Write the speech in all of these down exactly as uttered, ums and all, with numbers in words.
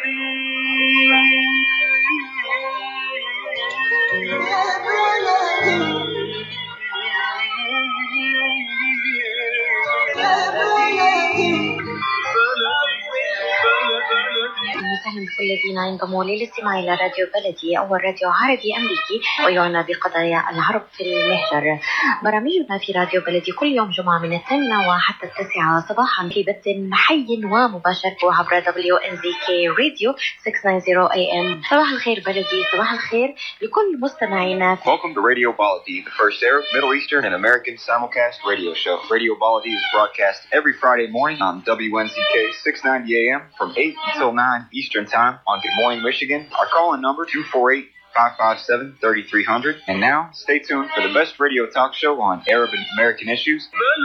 وسهلا بكل الذين ينضموا للاستماع إلى راديو بلدي، أول راديو عربي أمريكي ويعنى بقضايا العرب في المهجر. برامجنا في راديو بلدي كل يوم جمعة من الثامنة وحتى التاسعة صباحا في بث حي ومباشر عبر دبليو إن زي كي راديو ستمائة وتسعين إيه إم. صباح الخير بلدي، صباح الخير لكل مستمعينا. Welcome to Radio Baladi, the first Arab, Middle Eastern, and American simulcast radio show. Radio Baladi is broadcast every Friday morning on W N Z K six ninety A M from eight until nine Eastern Time on Good Morning Michigan. Our call-in number two four eight, five five seven, three three zero zero. And now, stay tuned for the best radio talk show on Arab and American issues.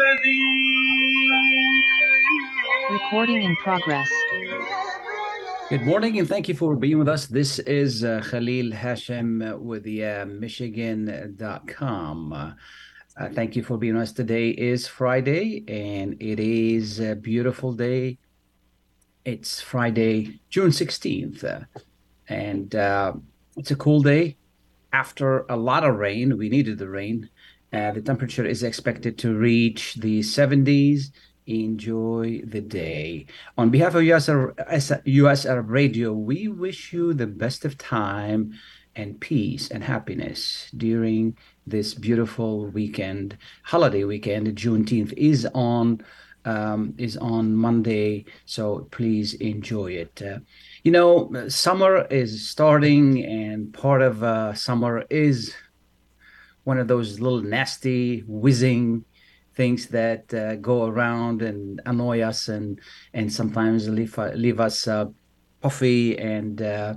Recording in progress. Good morning and thank you for being with us. This is uh, Khalil Hashem with the uh, Michigan dot com. Uh, uh, thank you for being with us. Today is Friday and it is a beautiful day. It's Friday, June sixteenth, uh, and uh, it's a cool day. After a lot of rain, we needed the rain. Uh, the temperature is expected to reach the seventies. Enjoy the day. On behalf of U S, U S Arab Radio, we wish you the best of time and peace and happiness during this beautiful weekend, holiday weekend. Juneteenth is on um, is on Monday, so please enjoy it. Uh, you know, summer is starting, and part of uh, summer is one of those little nasty, whizzing things that uh, go around and annoy us, and and sometimes leave leave us uh, puffy and uh,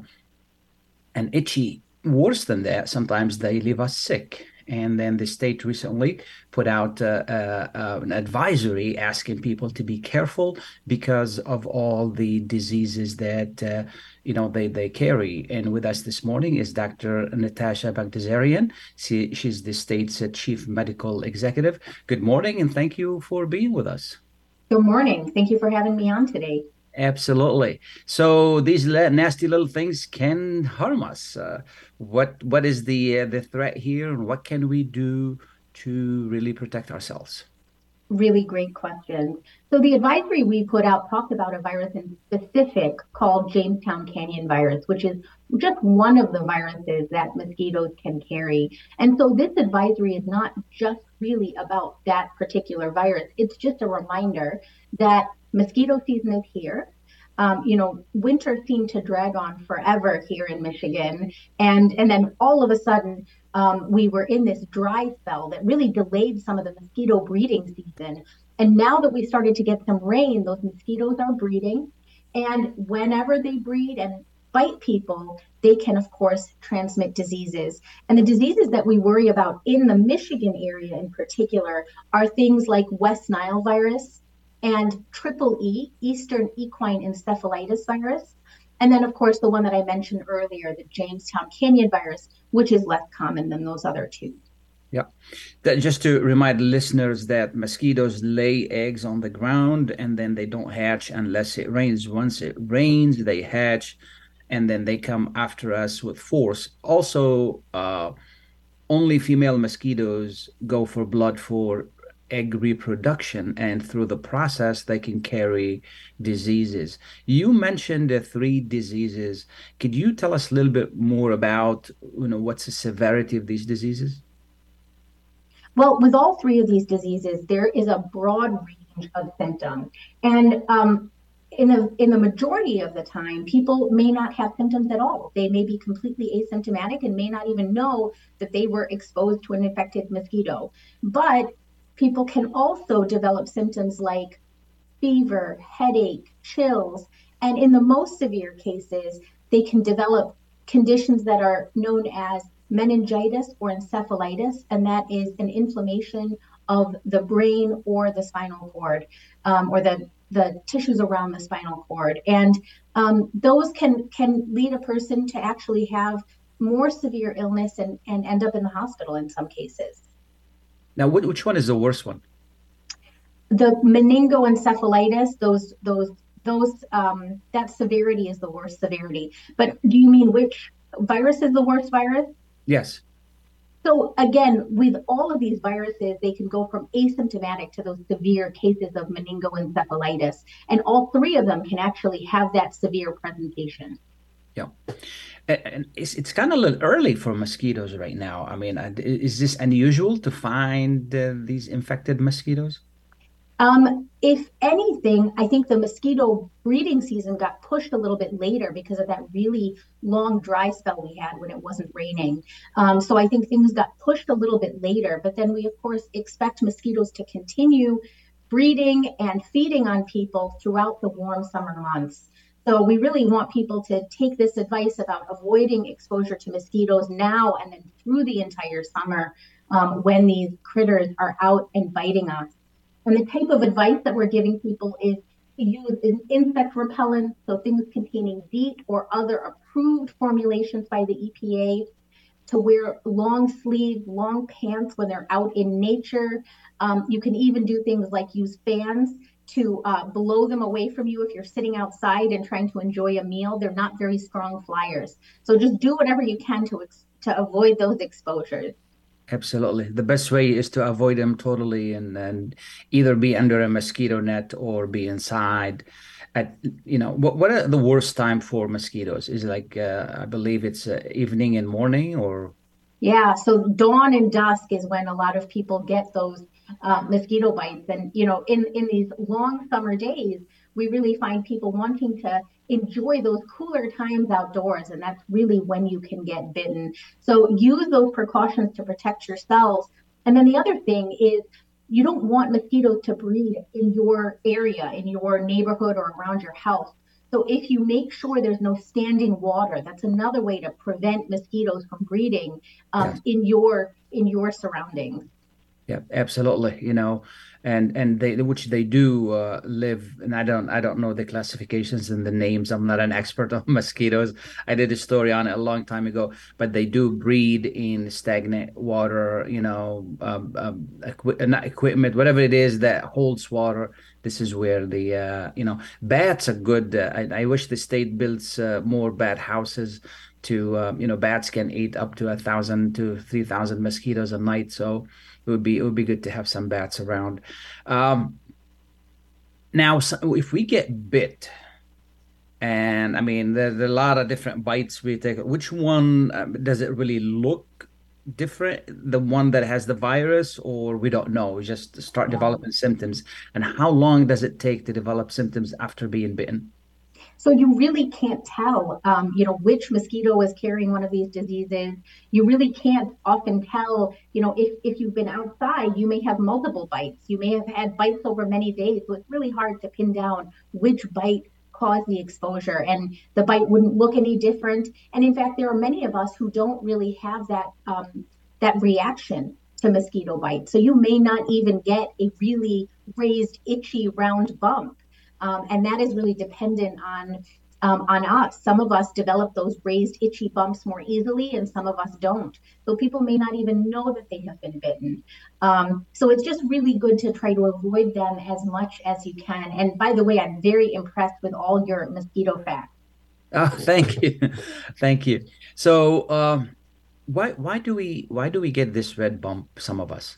and itchy. Worse than that, sometimes they leave us sick. And then the state recently put out uh, uh, uh, an advisory asking people to be careful because of all the diseases that uh, you know they, they carry. And with us this morning is Doctor Natasha Bagdasarian. She, she's the state's uh, chief medical executive. Good morning, and thank you for being with us. Good morning. Thank you for having me on today. Absolutely. So these la- nasty little things can harm us. Uh, what what is the uh, the threat here, and what can we do to really protect ourselves? Really great question. So the advisory we put out talked about a virus in specific called Jamestown Canyon virus, which is just one of the viruses that mosquitoes can carry. And so this advisory is not just really about that particular virus. It's just a reminder that mosquito season is here. Um, you know, winter seemed to drag on forever here in Michigan. And, and then all of a sudden, um, we were in this dry spell that really delayed some of the mosquito breeding season. And now that we started to get some rain, those mosquitoes are breeding. And whenever they breed and bite people, they can, of course, transmit diseases. And the diseases that we worry about in the Michigan area in particular are things like West Nile virus and triple E, Eastern Equine Encephalitis virus. And then, of course, the one that I mentioned earlier, the Jamestown Canyon virus, which is less common than those other two. Yeah. That, just to remind listeners that mosquitoes lay eggs on the ground and then they don't hatch unless it rains. Once it rains, they hatch and then they come after us with force. Also, uh, only female mosquitoes go for blood for egg reproduction, and through the process they can carry diseases. You mentioned the three diseases. Could you tell us a little bit more about, you know, what's the severity of these diseases? Well, with all three of these diseases, there is a broad range of symptoms. And um, in, the, in the majority of the time, people may not have symptoms at all. They may be completely asymptomatic and may not even know that they were exposed to an infected mosquito. But people can also develop symptoms like fever, headache, chills, and in the most severe cases, they can develop conditions that are known as meningitis or encephalitis, and that is an inflammation of the brain or the spinal cord, um, or the, the tissues around the spinal cord. And um, those can, can lead a person to actually have more severe illness and, and end up in the hospital in some cases. Now, which one is the worst one? The meningoencephalitis, those those those um, that severity is the worst severity. But do you mean which virus is the worst virus? Yes. So again, with all of these viruses, they can go from asymptomatic to those severe cases of meningoencephalitis. And all three of them can actually have that severe presentation. Yeah. And it's, it's kind of a little early for mosquitoes right now. I mean, is this unusual to find uh, these infected mosquitoes? Um, if anything, I think the mosquito breeding season got pushed a little bit later because of that really long dry spell we had when it wasn't raining. Um, so I think things got pushed a little bit later, but then we of course expect mosquitoes to continue breeding and feeding on people throughout the warm summer months. So we really want people to take this advice about avoiding exposure to mosquitoes now and then through the entire summer um, when these critters are out and biting us. And the type of advice that we're giving people is to use insect repellent, so things containing DEET or other approved formulations by the E P A, to wear long sleeve, long pants when they're out in nature. Um, you can even do things like use fans to uh, blow them away from you if you're sitting outside and trying to enjoy a meal. They're not very strong flyers. So just do whatever you can to, to avoid those exposures. Absolutely. The best way is to avoid them totally and, and either be under a mosquito net or be inside. At, you know, what, what are the worst time for mosquitoes? Is it like, uh, I believe it's uh, evening and morning or? Yeah, so dawn and dusk is when a lot of people get those uh, mosquito bites. And, you know, in, in these long summer days, we really find people wanting to enjoy those cooler times outdoors. And that's really when you can get bitten. So use those precautions to protect yourselves. And then the other thing is you don't want mosquitoes to breed in your area, in your neighborhood or around your house. So if you make sure there's no standing water, that's another way to prevent mosquitoes from breeding um, yes. in your in your surroundings. Yeah, absolutely. You know, and and they which they do uh, live, and I don't I don't know the classifications and the names. I'm not an expert on mosquitoes. I did a story on it a long time ago, but they do breed in stagnant water. You know, um, um, equi- not equipment, whatever it is that holds water. This is where the uh, you know bats are good. Uh, I, I wish the state builds uh, more bat houses. To um, you know, bats can eat up to a thousand to three thousand mosquitoes a night. So it would be it would be good to have some bats around. Um, now, so if we get bit, and I mean, there, there are a lot of different bites we take. Which one um, does it really look different? The one that has the virus, or we don't know? We just start developing symptoms. And how long does it take to develop symptoms after being bitten? So you really can't tell, um, you know, which mosquito is carrying one of these diseases. You really can't often tell, you know, if, if you've been outside, you may have multiple bites. You may have had bites over many days. So it's really hard to pin down which bite caused the exposure. And the bite wouldn't look any different. And in fact, there are many of us who don't really have that um, that reaction to mosquito bites. So you may not even get a really raised, itchy, round bump. Um, and that is really dependent on um, on us. Some of us develop those raised itchy bumps more easily, and some of us don't. So people may not even know that they have been bitten. Um, so it's just really good to try to avoid them as much as you can. And by the way, I'm very impressed with all your mosquito facts. Oh, thank you, thank you. So um, why why do we why do we get this red bump? Some of us.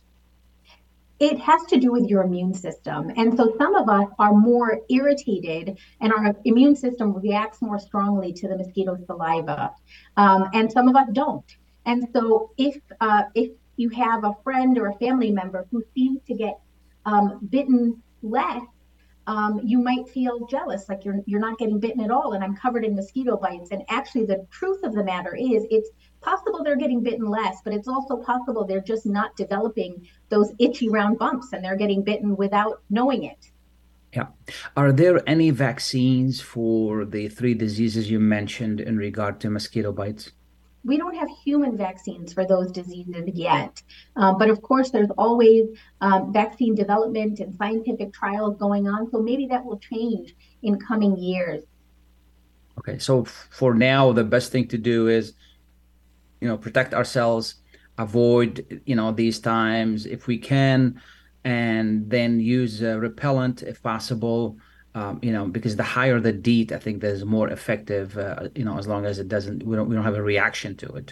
It has to do with your immune system. And so some of us are more irritated and our immune system reacts more strongly to the mosquito saliva. Um, and some of us don't. And so if uh, if you have a friend or a family member who seems to get um, bitten less, um, you might feel jealous, like you're you're not getting bitten at all, and I'm covered in mosquito bites. And actually, the truth of the matter is, it's possible they're getting bitten less, but it's also possible they're just not developing those itchy round bumps, and they're getting bitten without knowing it. Yeah. Are there any vaccines for the three diseases you mentioned in regard to mosquito bites? We don't have human vaccines for those diseases yet. Um, but of course, there's always um, vaccine development and scientific trials going on. So maybe that will change in coming years. Okay. So f- for now, the best thing to do is, you know, protect ourselves, avoid, you know, these times if we can, and then use uh, repellent if possible. Um, you know, because the higher the DEET, I think there's more effective, uh, you know, as long as it doesn't, we don't, we don't have a reaction to it.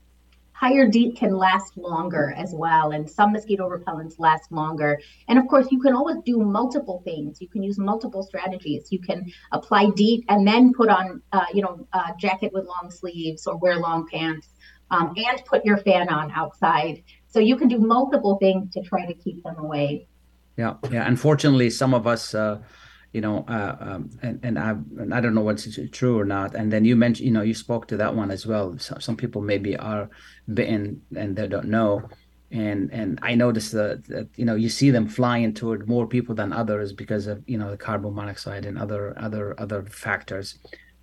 Higher DEET can last longer as well, and some mosquito repellents last longer. And of course, you can always do multiple things. You can use multiple strategies. You can apply DEET and then put on, uh, you know, a jacket with long sleeves or wear long pants, um, and put your fan on outside. So you can do multiple things to try to keep them away. Yeah, yeah. Unfortunately, some of us, uh, you know, uh, um, and and I and I don't know what's true or not. And then you mentioned, you know, you spoke to that one as well. So, some people maybe are bitten and they don't know. And and I noticed that, that you know you see them flying toward more people than others because of you know the carbon monoxide and other other other factors.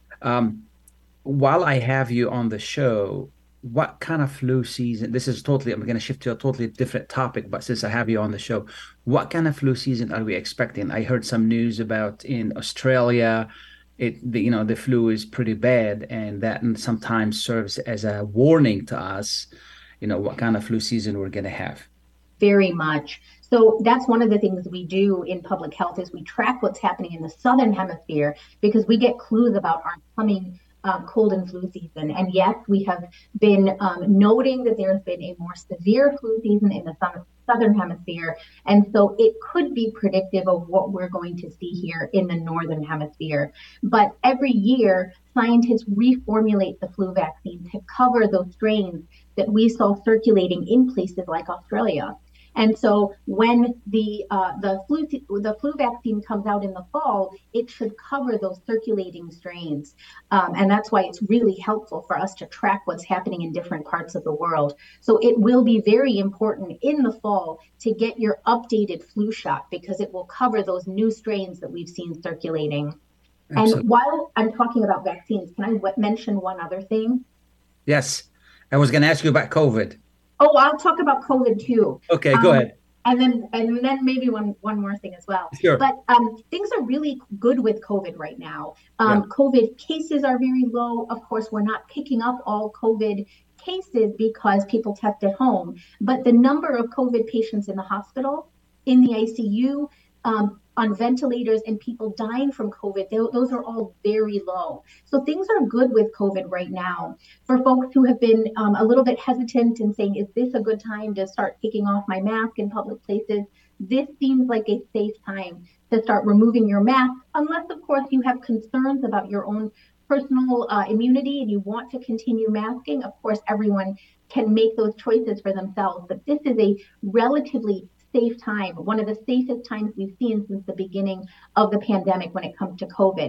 Um, while I have you on the show, what kind of flu season? This is totally, I'm going to shift to a totally different topic, but since I have you on the show, what kind of flu season are we expecting? I heard some news about in Australia, it, the, you know, the flu is pretty bad, and that sometimes serves as a warning to us, you know, what kind of flu season we're going to have. Very much. So that's one of the things we do in public health is we track what's happening in the Southern Hemisphere because we get clues about our coming Uh, cold and flu season. And yes, we have been um, noting that there's been a more severe flu season in the Southern Hemisphere. And so it could be predictive of what we're going to see here in the Northern Hemisphere. But every year, scientists reformulate the flu vaccine to cover those strains that we saw circulating in places like Australia. And so when the uh, the flu the flu vaccine comes out in the fall, it should cover those circulating strains, um, and that's why it's really helpful for us to track what's happening in different parts of the world. So it will be very important in the fall to get your updated flu shot because it will cover those new strains that we've seen circulating. Absolutely. And while I'm talking about vaccines, can I w- mention one other thing? Yes, I was going to ask you about COVID. Oh, I'll talk about COVID too. Okay, go um, ahead. And then and then maybe one, one more thing as well. Sure. But um, things are really good with COVID right now. Um, yeah. COVID cases are very low. Of course, we're not picking up all COVID cases because people test at home. But the number of COVID patients in the hospital, in the I C U, um, on ventilators, and people dying from COVID, they, those are all very low. So things are good with COVID right now. For folks who have been um, a little bit hesitant and saying, is this a good time to start taking off my mask in public places? This seems like a safe time to start removing your mask, unless, of course, you have concerns about your own personal uh, immunity and you want to continue masking. Of course, everyone can make those choices for themselves, but this is a relatively safe time, one of the safest times we've seen since the beginning of the pandemic when it comes to COVID.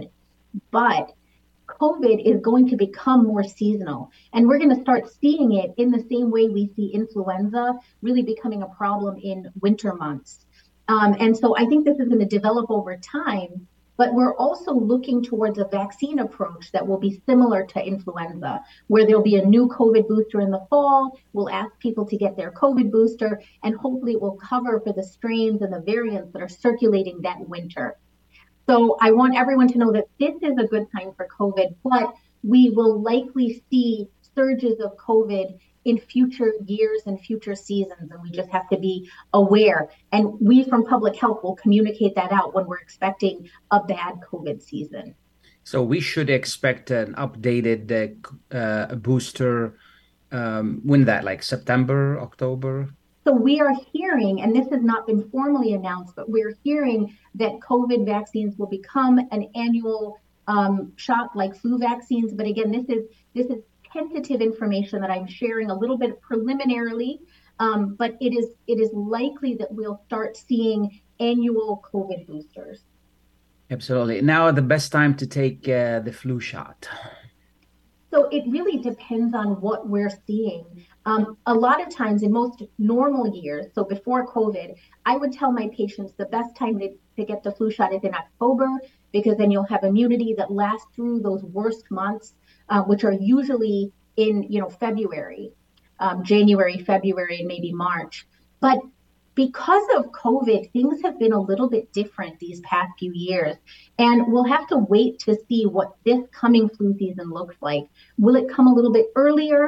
But COVID is going to become more seasonal, and we're going to start seeing it in the same way we see influenza really becoming a problem in winter months. Um, and so I think this is going to develop over time, but we're also looking towards a vaccine approach that will be similar to influenza, where there'll be a new COVID booster in the fall. We'll ask people to get their COVID booster, and hopefully it will cover for the strains and the variants that are circulating that winter. So I want everyone to know that this is a good time for COVID, but we will likely see surges of COVID in future years and future seasons, and we just have to be aware. And we from public health will communicate that out when we're expecting a bad COVID season. So we should expect an updated uh, uh, booster um, when that, like September, October? So we are hearing, and this has not been formally announced, but we're hearing that COVID vaccines will become an annual um, shot like flu vaccines. But again, this is this is tentative information that I'm sharing a little bit preliminarily, um, but it is it is likely that we'll start seeing annual COVID boosters. Absolutely. Now, the best time to take uh, the flu shot? So it really depends on what we're seeing. Um, a lot of times in most normal years, so before COVID, I would tell my patients the best time to, to get the flu shot is in October, because then you'll have immunity that lasts through those worst months, uh, which are usually in, you know, February, um, January, February, and maybe March. But because of COVID, things have been a little bit different these past few years, and we'll have to wait to see what this coming flu season looks like. Will it come a little bit earlier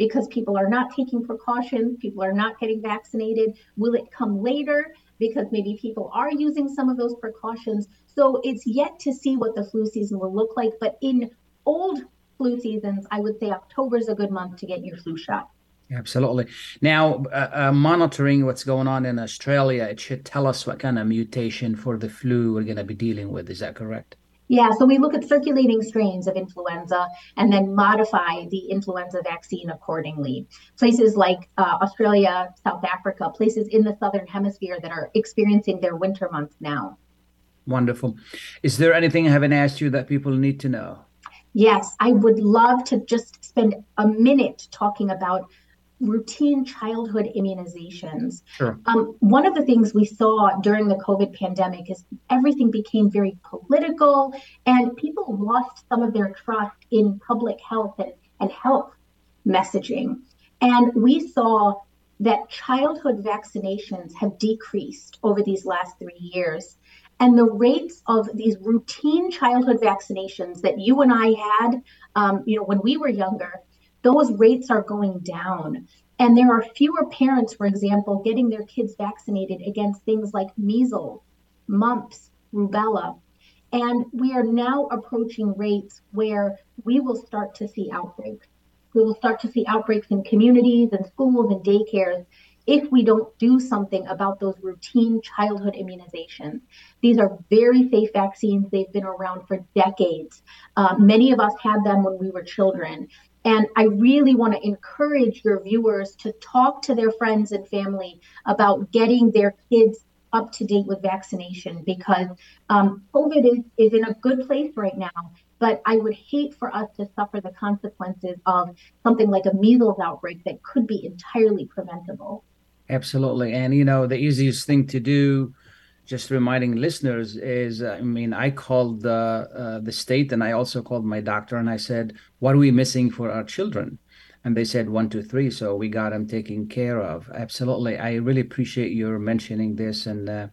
because people are not taking precautions, people are not getting vaccinated? Will it come later because maybe people are using some of those precautions? So it's yet to see what the flu season will look like. But in old flu seasons, I would say October is a good month to get your flu shot. Absolutely. Now, uh, uh, monitoring what's going on in Australia, it should tell us what kind of mutation for the flu we're going to be dealing with. Is that correct? Yeah, so we look at circulating strains of influenza and then modify the influenza vaccine accordingly. Places like uh, Australia, South Africa, places in the Southern Hemisphere that are experiencing their winter months now. Wonderful. Is there anything I haven't asked you that people need to know? Yes, I would love to just spend a minute talking about routine childhood immunizations. Sure. Um, one of the things we saw during the COVID pandemic is everything became very political and people lost some of their trust in public health and, and health messaging. And we saw that childhood vaccinations have decreased over these last three years. And the rates of these routine childhood vaccinations that you and I had, um, you know, when we were younger, those rates are going down. And there are fewer parents, for example, getting their kids vaccinated against things like measles, mumps, rubella. And we are now approaching rates where we will start to see outbreaks. We will start to see outbreaks in communities and schools and daycares if we don't do something about those routine childhood immunizations. These are very safe vaccines. They've been around for decades. Uh, many of us had them when we were children. And I really want to encourage your viewers to talk to their friends and family about getting their kids up to date with vaccination, because um, COVID is, is in a good place right now. But I would hate for us to suffer the consequences of something like a measles outbreak that could be entirely preventable. Absolutely. And, you know, the easiest thing to do, just reminding listeners, is, uh, I mean, I called the, uh, the state and I also called my doctor and I said, what are we missing for our children? And they said one, two, three. So we got them taken care of. Absolutely. I really appreciate your mentioning this. And, uh,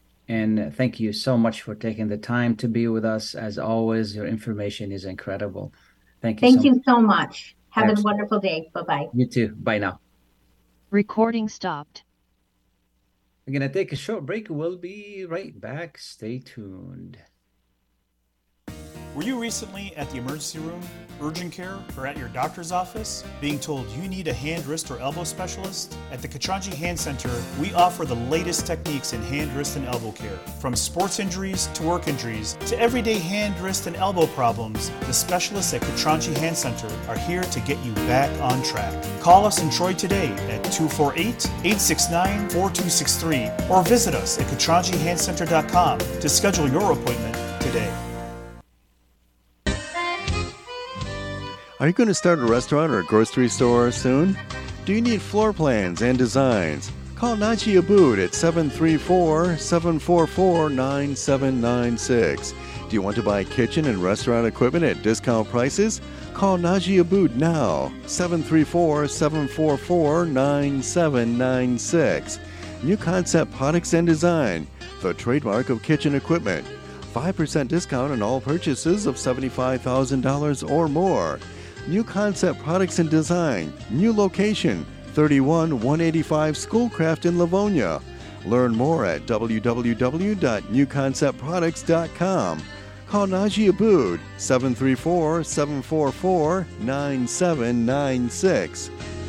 and thank you so much for taking the time to be with us. As always, your information is incredible. Thank you. Thank so you much. so much. Have Absolutely. a wonderful day. Bye-bye. You too. Bye now. Recording stopped. We're going to take a short break. We'll be right back. Stay tuned. Were you recently at the emergency room, urgent care, or at your doctor's office being told you need a hand, wrist, or elbow specialist? At the Katranji Hand Center, we offer the latest techniques in hand, wrist, and elbow care. From sports injuries to work injuries to everyday hand, wrist, and elbow problems, the specialists at Katranji Hand Center are here to get you back on track. Call us in Troy today at two four eight, eight six nine, four two six three or visit us at katranji hand center dot com to schedule your appointment today. Are you going to start a restaurant or a grocery store soon? Do you need floor plans and designs? Call Naji Abood at seven three four, seven four four, nine seven nine six. Do you want to buy kitchen and restaurant equipment at discount prices? Call Naji Abood now, seven three four, seven four four, nine seven nine six. New Concept Products and Design, the trademark of kitchen equipment. five percent discount on all purchases of seventy-five thousand dollars or more. New Concept Products and Design, new location, thirty-one one eighty-five Schoolcraft in Livonia. Learn more at w w w dot new concept products dot com. Call Naji Abood, seven three four, seven four four, nine seven nine six.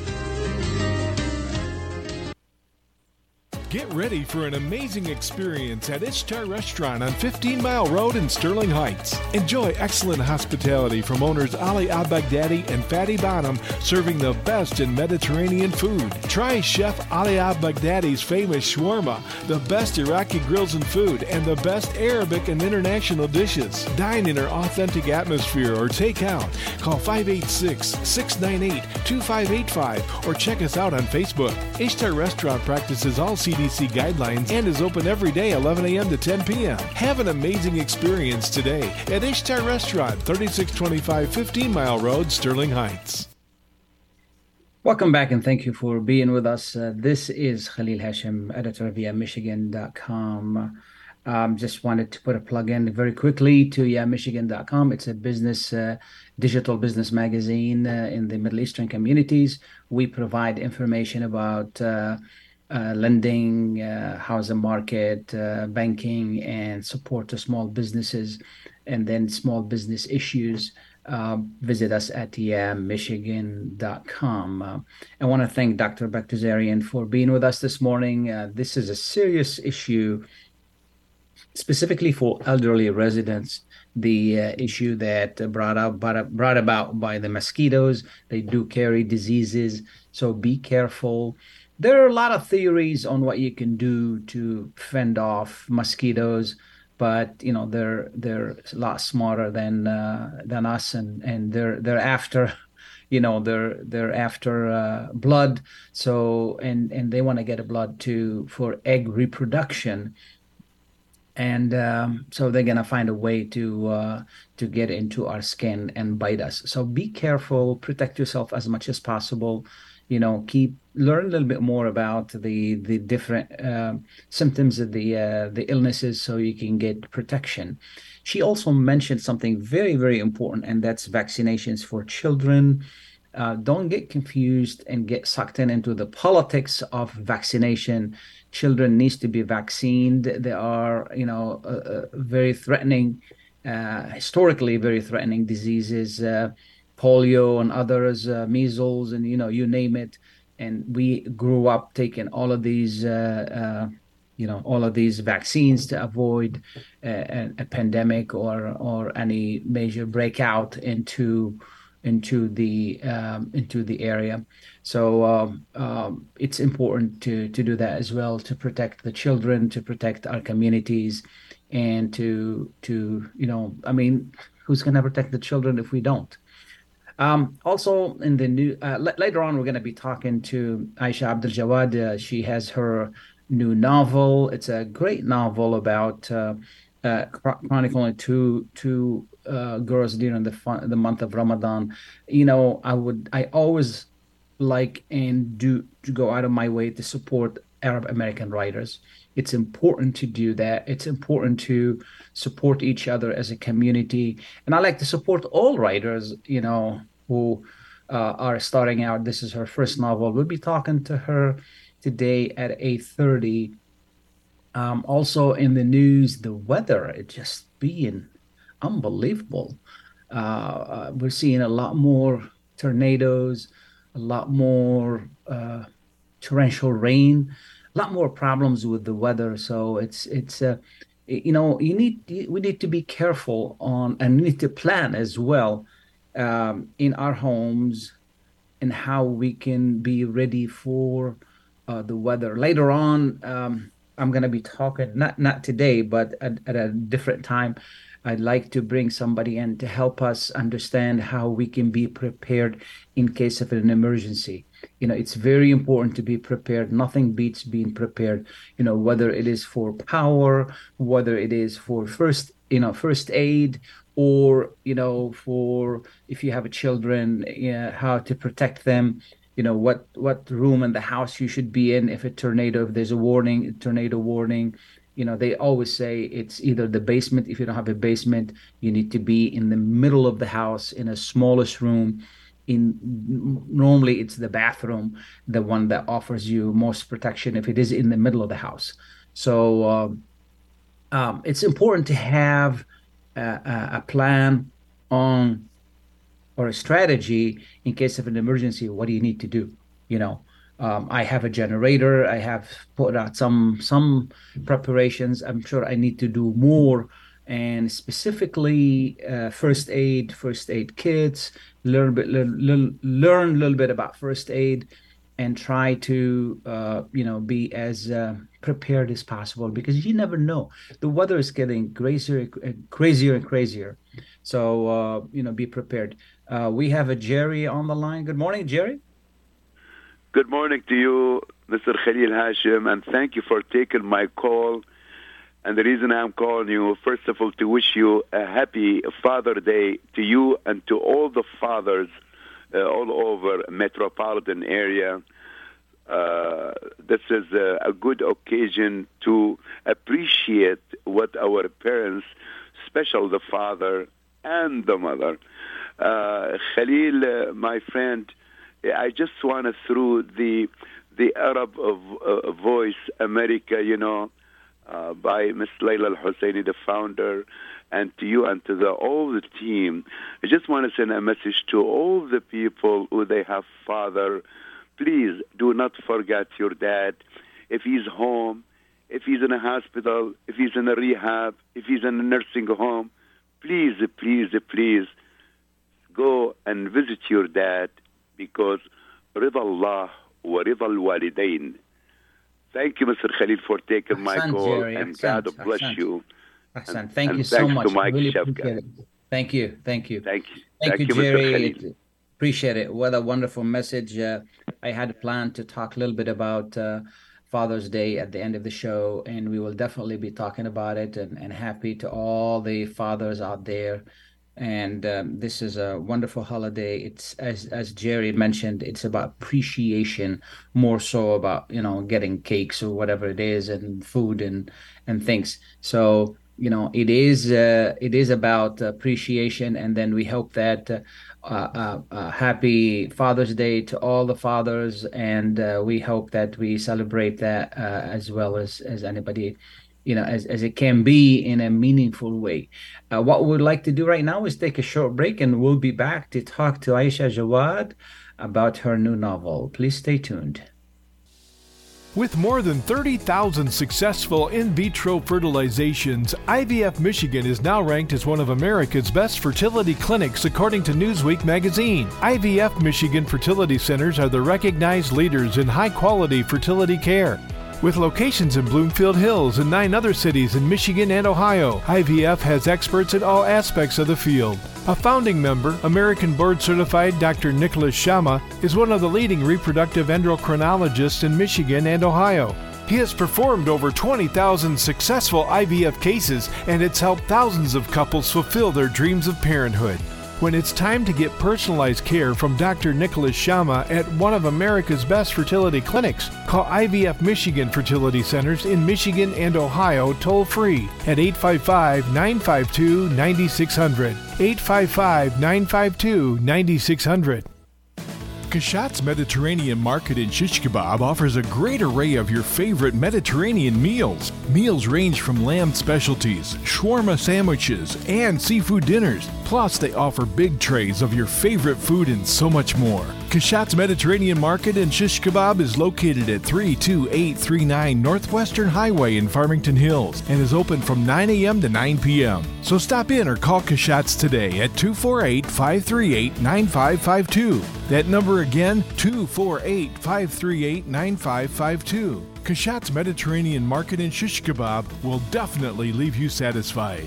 Get ready for an amazing experience at Ishtar Restaurant on fifteen Mile Road in Sterling Heights. Enjoy excellent hospitality from owners Ali Al-Baghdadi and Fatty Bonham, serving the best in Mediterranean food. Try Chef Ali Al-Baghdadi's famous shawarma, the best Iraqi grills and food, and the best Arabic and international dishes. Dine in our authentic atmosphere or take out. Call five eight six, six nine eight, two five eight five or check us out on Facebook. Ishtar Restaurant practices all C D C guidelines and is open every day eleven a.m. to ten p.m. Have an amazing experience today at Ishtar Restaurant, thirty-six twenty-five fifteen Mile Road, Sterling Heights. Welcome back and thank you for being with us. Uh, this is Khalil Hashim, editor via Michigan dot com. Um, just wanted to put a plug in very quickly to yeah michigan dot com. It's a business, uh, digital business magazine uh, in the Middle Eastern communities. We provide information about uh, uh, lending, uh, housing market, uh, banking, and support to small businesses, and then small business issues. Uh, visit us at yeah michigan dot com. Uh, I want to thank Doctor Baghdasaryan for being with us this morning. Uh, this is a serious issue, specifically for elderly residents, the uh, issue that uh, brought out brought, brought about by the mosquitoes. They do carry diseases, so be careful. There are a lot of theories on what you can do to fend off mosquitoes, but you know they're they're a lot smarter than uh, than us, and and they're they're after you know they're they're after uh, blood. So and and they want to get a blood too for egg reproduction. And um, so they're gonna find a way to uh, to get into our skin and bite us. So be careful, protect yourself as much as possible. You know, keep learn a little bit more about the the different uh, symptoms of the uh, the illnesses, so you can get protection. She also mentioned something very, very important, and that's vaccinations for children. Uh, don't get confused and get sucked in into the politics of vaccination. Children needs to be vaccinated. They are, you know, uh, uh, very threatening, uh, historically very threatening diseases, uh, polio and others, uh, measles, and you know, you name it. And we grew up taking all of these, uh, uh, you know, all of these vaccines to avoid a, a pandemic or or any major breakout into. into the um, into the area. So um, um, it's important to to do that as well, to protect the children, to protect our communities, and to to you know, I mean, who's going to protect the children if we don't? Um, also, in the new uh, l- later on, we're going to be talking to Aisha Abdul Jawad. Uh, she has her new novel. It's a great novel about uh, uh, chronicling two two uh, girls during the fun, the month of Ramadan. You know, I would I always like and do to go out of my way to support Arab American writers. It's important to do that. It's important to support each other as a community, and I like to support all writers, you know, who uh, are starting out. This is her first novel. We'll be talking to her today at eight thirty. Um, also in the news, the weather, it just being unbelievable. Uh, uh, we're seeing a lot more tornadoes, a lot more uh, torrential rain, a lot more problems with the weather. So it's it's uh, you know you need we need to be careful on, and we need to plan as well um, in our homes and how we can be ready for uh, the weather. Later on, um, I'm going to be talking, not not today, but at, at a different time. I'd like to bring somebody in to help us understand how we can be prepared in case of an emergency. You know, it's very important to be prepared. Nothing beats being prepared, you know, whether it is for power, whether it is for first, you know, first aid, or, you know, for if you have children, you know, how to protect them, you know, what, what room in the house you should be in if a tornado, if there's a warning, a tornado warning. You know, they always say it's either the basement. If you don't have a basement, you need to be in the middle of the house in a smallest room. In normally it's the bathroom, the one that offers you most protection if it is in the middle of the house. So um, um, it's important to have a, a plan on or a strategy in case of an emergency. What do you need to do? You know. Um, I have a generator. I have put out some some preparations. I'm sure I need to do more, and specifically uh, first aid, first aid kits. Learn bit, learn, learn a little bit about first aid, and try to uh, you know be as uh, prepared as possible, because you never know. The weather is getting crazier, crazier and crazier. So uh, you know, be prepared. Uh, we have a Jerry on the line. Good morning, Jerry. Good morning to you, Mister Khalil Hashim, and thank you for taking my call. And the reason I'm calling you, first of all, to wish you a happy Father Day to you and to all the fathers uh, all over metropolitan area. uh, this is a, a good occasion to appreciate what our parents, especially the father and the mother. Uh, Khalil, uh, my friend, I just want to through the the Arab of uh, Voice America, you know, uh, by Miss Layla Al-Husseini, the founder, and to you and to the all the team. I just want to send a message to all the people who they have father. Please do not forget your dad. If he's home, if he's in a hospital, if he's in a rehab, if he's in a nursing home, please, please, please go and visit your dad, because رضا الله ورضا الوالدين. Thank you, Mister Khalil, for taking my Ahsan, call, Jerry. and Ahsan, God bless Ahsan. you. Ahsan. And- Thank and you so thanks much. to Mike I really Shefka. appreciate it. Thank you. Thank you. Thank you. Thank, you, you, Mister Jerry. Khalil. It- Appreciate it. What a wonderful message. Uh, I had a plan to talk a little bit about uh, Father's Day at the end of the show, and we will definitely be talking about it, and, and happy to all the fathers out there. And um, this is a wonderful holiday. It's as as Jerry mentioned, it's about appreciation, more so about, you know, getting cakes or whatever it is, and food and and things. So, you know, it is uh, it is about appreciation, and then we hope that uh, uh, uh, happy Father's Day to all the fathers, and uh, we hope that we celebrate that uh, as well as as anybody, you know, as, as it can be, in a meaningful way. Uh, what we'd like to do right now is take a short break, and we'll be back to talk to Aisha Jawad about her new novel. Please stay tuned. With more than thirty thousand successful in vitro fertilizations, I V F Michigan is now ranked as one of America's best fertility clinics according to Newsweek magazine. I V F Michigan fertility centers are the recognized leaders in high-quality fertility care. With locations in Bloomfield Hills and nine other cities in Michigan and Ohio, I V F has experts in all aspects of the field. A founding member, American board-certified Doctor Nicholas Shama, is one of the leading reproductive endocrinologists in Michigan and Ohio. He has performed over twenty thousand successful I V F cases, and it's helped thousands of couples fulfill their dreams of parenthood. When it's time to get personalized care from Doctor Nicholas Shama at one of America's best fertility clinics, call I V F Michigan Fertility Centers in Michigan and Ohio toll-free at eight five five, nine five two, nine six zero zero, eight five five, nine five two, nine six zero zero. Kashat's Mediterranean Market in Shish Kebab offers a great array of your favorite Mediterranean meals. Meals range from lamb specialties, shawarma sandwiches, and seafood dinners. Plus, they offer big trays of your favorite food and so much more. Kashat's Mediterranean Market in Shish Kebab is located at three two eight three nine Northwestern Highway in Farmington Hills and is open from nine a.m. to nine p.m. So stop in or call Kashat's today at two four eight, five three eight, nine five five two. That number again, two four eight, five three eight, nine five five two. Kashat's Mediterranean Market in Shish Kebab will definitely leave you satisfied.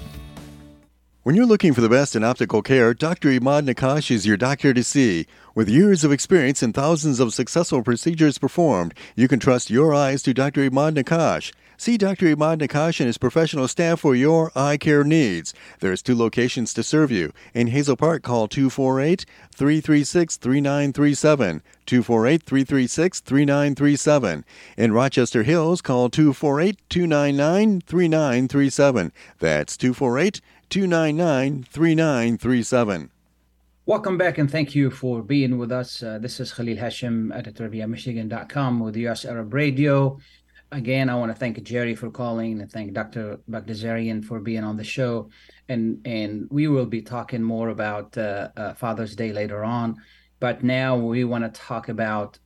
When you're looking for the best in optical care, Doctor Imad Nakash is your doctor to see. With years of experience and thousands of successful procedures performed, you can trust your eyes to Doctor Imad Nakash. See Doctor Imad Nakash and his professional staff for your eye care needs. There's two locations to serve you. In Hazel Park, call two four eight, three three six, three nine three seven, two four eight, three three six, three nine three seven. In Rochester Hills, call two four eight, two nine nine, three nine three seven. That's two four eight, two nine nine, three nine three seven. Welcome back, and thank you for being with us. Uh, this is Khalil Hashim, editor via Michigan dot com with U S Arab Radio. Again, I want to thank Jerry for calling, and thank Doctor Bagdasarian for being on the show. And and we will be talking more about uh, uh, Father's Day later on. But now we want to talk about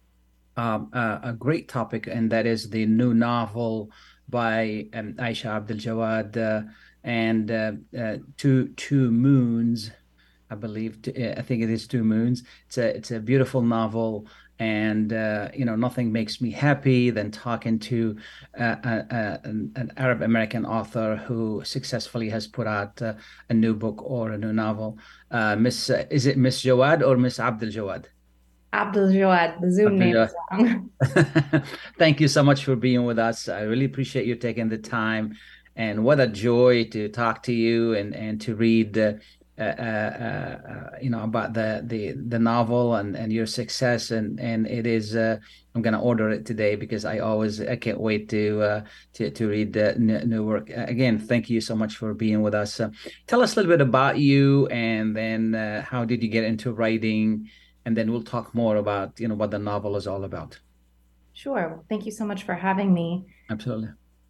um, uh, a great topic, and that is the new novel by um, Aisha Abdul Jawad uh, and uh, uh, Two Two Moons. I believe I think it is Two Moons. It's a it's a beautiful novel, and uh, you know, nothing makes me happy than talking to uh, uh, uh, an, an Arab American author who successfully has put out uh, a new book or a new novel. Uh, Miss uh, is it Miss Jawad or Miss Abdul Jawad? Abdul Jawad. The Zoom name is wrong. Thank you so much for being with us. I really appreciate you taking the time, and what a joy to talk to you and and to read. Uh, uh, uh, uh, you know, about the the the novel and and your success, and and it is. Uh, I'm gonna order it today because I always I can't wait to uh, to to read the new, new work. Uh, again, thank you so much for being with us. Uh, tell us a little bit about you, and then uh, how did you get into writing, and then we'll talk more about you know what the novel is all about. Sure. Thank you so much for having me. Absolutely.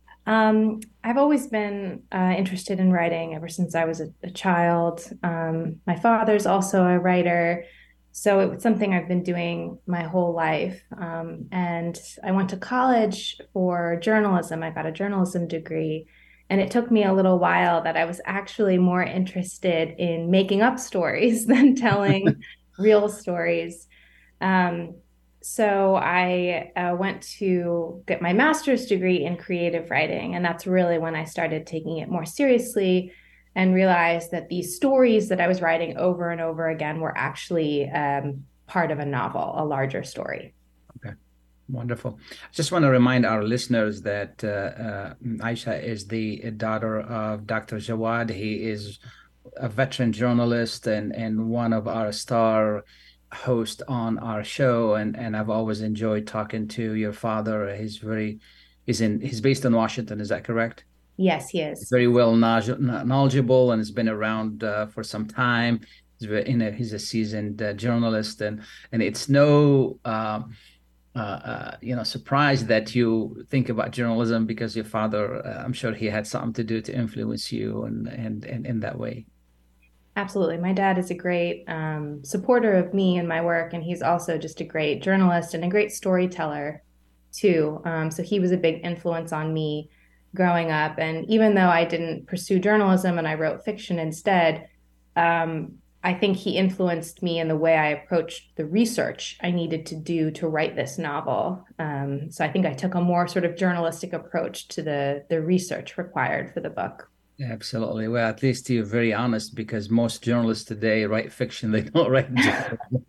Um, I've always been uh, interested in writing ever since I was a, a child. Um, my father's also a writer, so it was something I've been doing my whole life. Um, and I went to college for journalism. I got a journalism degree, and it took me a little while that I was actually more interested in making up stories than telling real stories. Um, So I uh, went to get my master's degree in creative writing, and that's really when I started taking it more seriously and realized that these stories that I was writing over and over again were actually um, part of a novel, a larger story. Okay, wonderful. I just want to remind our listeners that uh, uh, Aisha is the daughter of Doctor Jawad. He is a veteran journalist and, and one of our star host on our show, and and I've always enjoyed talking to your father. He's very he's in he's based in Washington, is that correct? Yes, he is. He's very well knowledgeable and has been around uh, for some time. He's very, you know, he's a seasoned uh, journalist, and and it's no uh, uh, uh, you know surprise that you think about journalism because your father, uh, I'm sure he had something to do to influence you and and, and in that way. Absolutely. My dad is a great um, supporter of me and my work, and he's also just a great journalist and a great storyteller too. Um, so he was a big influence on me growing up. And even though I didn't pursue journalism and I wrote fiction instead, um, I think he influenced me in the way I approached the research I needed to do to write this novel. Um, so I think I took a more sort of journalistic approach to the the research required for the book. Absolutely. Well, at least you're very honest, because most journalists today write fiction. They don't write journalism.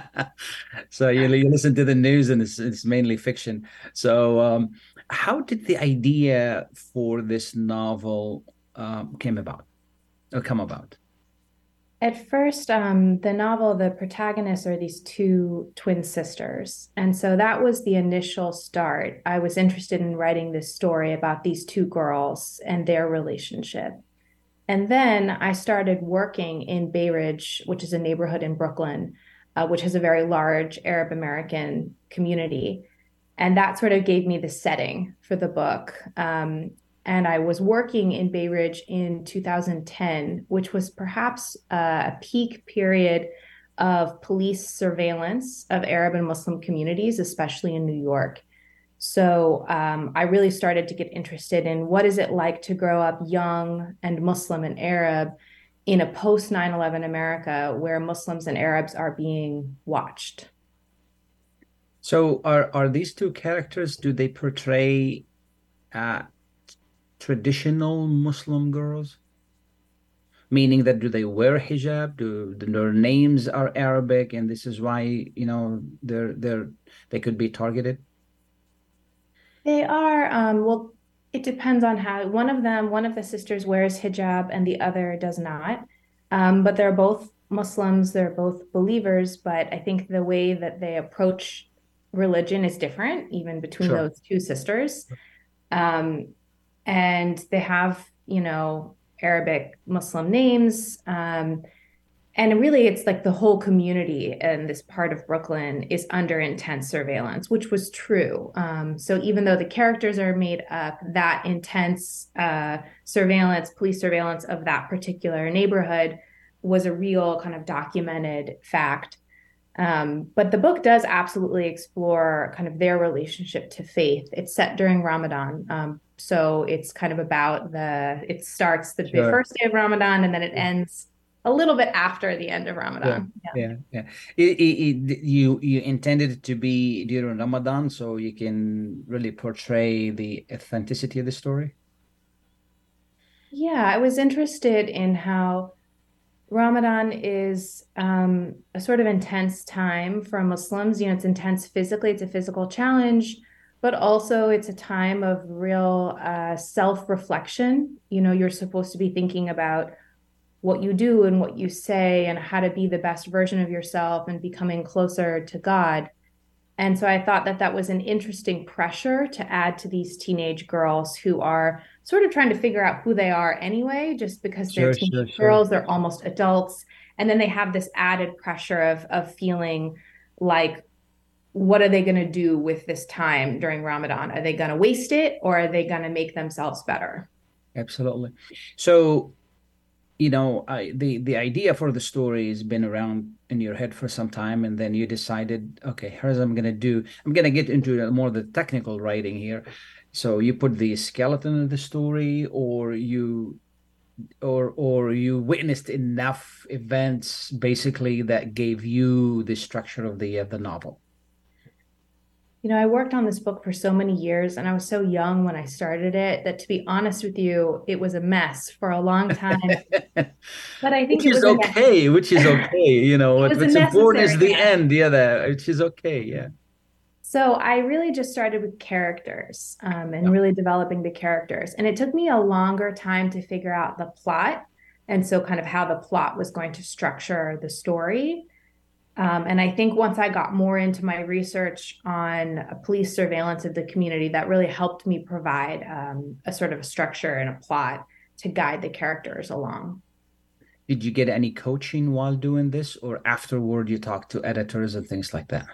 So you, you listen to the news and it's, it's mainly fiction. So um, how did the idea for this novel um, came about or come about? At first, um, the novel, the protagonists are these two twin sisters. And so that was the initial start. I was interested in writing this story about these two girls and their relationship. And then I started working in Bay Ridge, which is a neighborhood in Brooklyn, uh, which has a very large Arab American community. And that sort of gave me the setting for the book. Um, And I was working in Bay Ridge in two thousand ten, which was perhaps uh, a peak period of police surveillance of Arab and Muslim communities, especially in New York. So um, I really started to get interested in what is it like to grow up young and Muslim and Arab in a post nine eleven America where Muslims and Arabs are being watched. So are, are these two characters, do they portray uh, traditional Muslim girls? Meaning that do they wear hijab? Do, do their names are Arabic, and this is why you know they're they're they could be targeted? They are. Um, well, it depends on how. One of them, one of the sisters wears hijab, and the other does not. Um, but they're both Muslims. They're both believers. But I think the way that they approach religion is different, even between Sure. those two sisters. Um, and they have, you know, Arabic Muslim names. Um, and really, it's like the whole community in this part of Brooklyn is under intense surveillance, which was true. Um, so even though the characters are made up, that intense uh, surveillance, police surveillance of that particular neighborhood was a real kind of documented fact. Um, but the book does absolutely explore kind of their relationship to faith. It's set during Ramadan. Um, so it's kind of about the, it starts the, Sure. the first day of Ramadan, and then it ends a little bit after the end of Ramadan. Yeah, yeah, yeah. It, it, it, you you intended it to be during Ramadan, so you can really portray the authenticity of the story. Yeah, I was interested in how Ramadan is um, a sort of intense time for Muslims. You know, it's intense physically, it's a physical challenge, but also it's a time of real uh, self-reflection. You know, you're supposed to be thinking about what you do and what you say and how to be the best version of yourself and becoming closer to God. And so I thought that that was an interesting pressure to add to these teenage girls who are sort of trying to figure out who they are anyway, just because they're Sure, teenage sure, sure. girls, they're almost adults. And then they have this added pressure of, of feeling like, what are they going to do with this time during Ramadan? Are they going to waste it, or are they going to make themselves better? Absolutely. So, you know, I, the the idea for the story has been around in your head for some time, and then you decided, okay, here's what I'm going to do. I'm going to get into more of the technical writing here. So you put the skeleton of the story, or you, or or you witnessed enough events basically that gave you the structure of the uh, the novel. You know, I worked on this book for so many years, and I was so young when I started it that, to be honest with you, it was a mess for a long time. But I think which it is was okay, which is okay. You know, it was what's a important is necessary the mess. end. Yeah, that which is okay. Yeah. So I really just started with characters um, and really developing the characters. And it took me a longer time to figure out the plot. And so kind of how the plot was going to structure the story. Um, and I think once I got more into my research on uh, police surveillance of the community, that really helped me provide um, a sort of a structure and a plot to guide the characters along. Did you get any coaching while doing this, or afterward you talked to editors and things like that?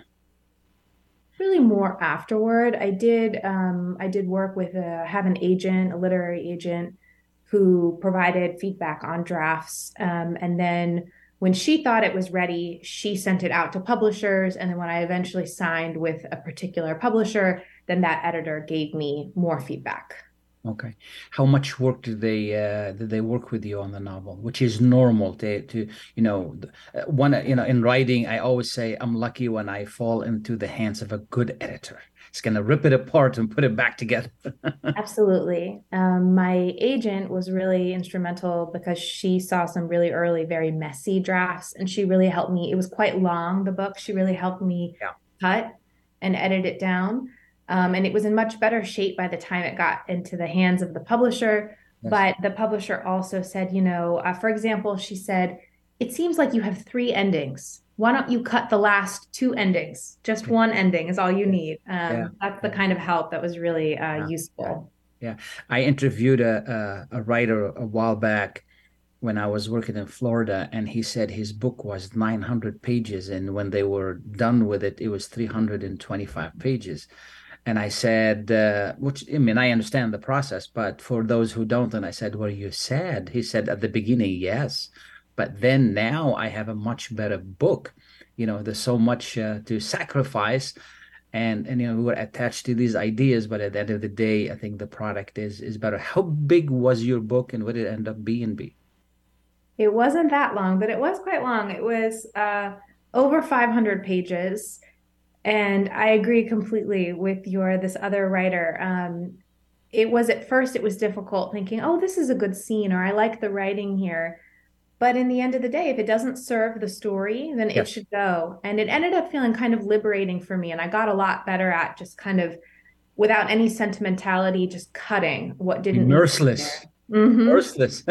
Really more afterward. I did um, I did work with a have an agent, a literary agent, who provided feedback on drafts. Um, and then when she thought it was ready, she sent it out to publishers. And then when I eventually signed with a particular publisher, then that editor gave me more feedback. Okay. How much work did they uh, did they work with you on the novel, which is normal to, to you know, uh, one, you know, in writing, I always say I'm lucky when I fall into the hands of a good editor. It's going to rip it apart and put it back together. Absolutely. Um, my agent was really instrumental because she saw some really early, very messy drafts, and she really helped me. It was quite long, the book. She really helped me yeah. cut and edit it down. Um, and it was in much better shape by the time it got into the hands of the publisher. Yes. But the publisher also said, you know, uh, for example, she said, it seems like you have three endings. Why don't you cut the last two endings? Just one ending is all you need. Um, yeah. That's the kind of help that was really uh, yeah. useful. Yeah. I interviewed a, a, a writer a while back when I was working in Florida, and he said his book was nine hundred pages. And when they were done with it, it was three hundred twenty-five pages. And I said, uh, which, I mean, I understand the process, but for those who don't, and I said, were you sad? He said at the beginning, yes. But then now I have a much better book. You know, there's so much uh, to sacrifice. And, and, you know, we were attached to these ideas, but at the end of the day, I think the product is is better. How big was your book, and what did it end up being? Be? It wasn't that long, but it was quite long. It was uh, over five hundred pages. And I agree completely with your, this other writer. Um, it was, at first, it was difficult thinking, oh, this is a good scene, or I like the writing here. But in the end of the day, if it doesn't serve the story, then yes. it should go. And it ended up feeling kind of liberating for me. And I got a lot better at just kind of, without any sentimentality, just cutting what didn't merciless. Mm-hmm. Merciless.